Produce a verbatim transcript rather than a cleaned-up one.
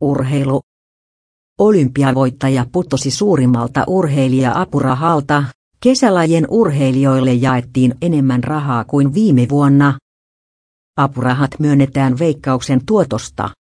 Urheilu. Olympiavoittaja putosi suurimmalta urheilija-apurahalta. Kesälajien urheilijoille jaettiin enemmän rahaa kuin viime vuonna. Apurahat myönnetään Veikkauksen tuotosta.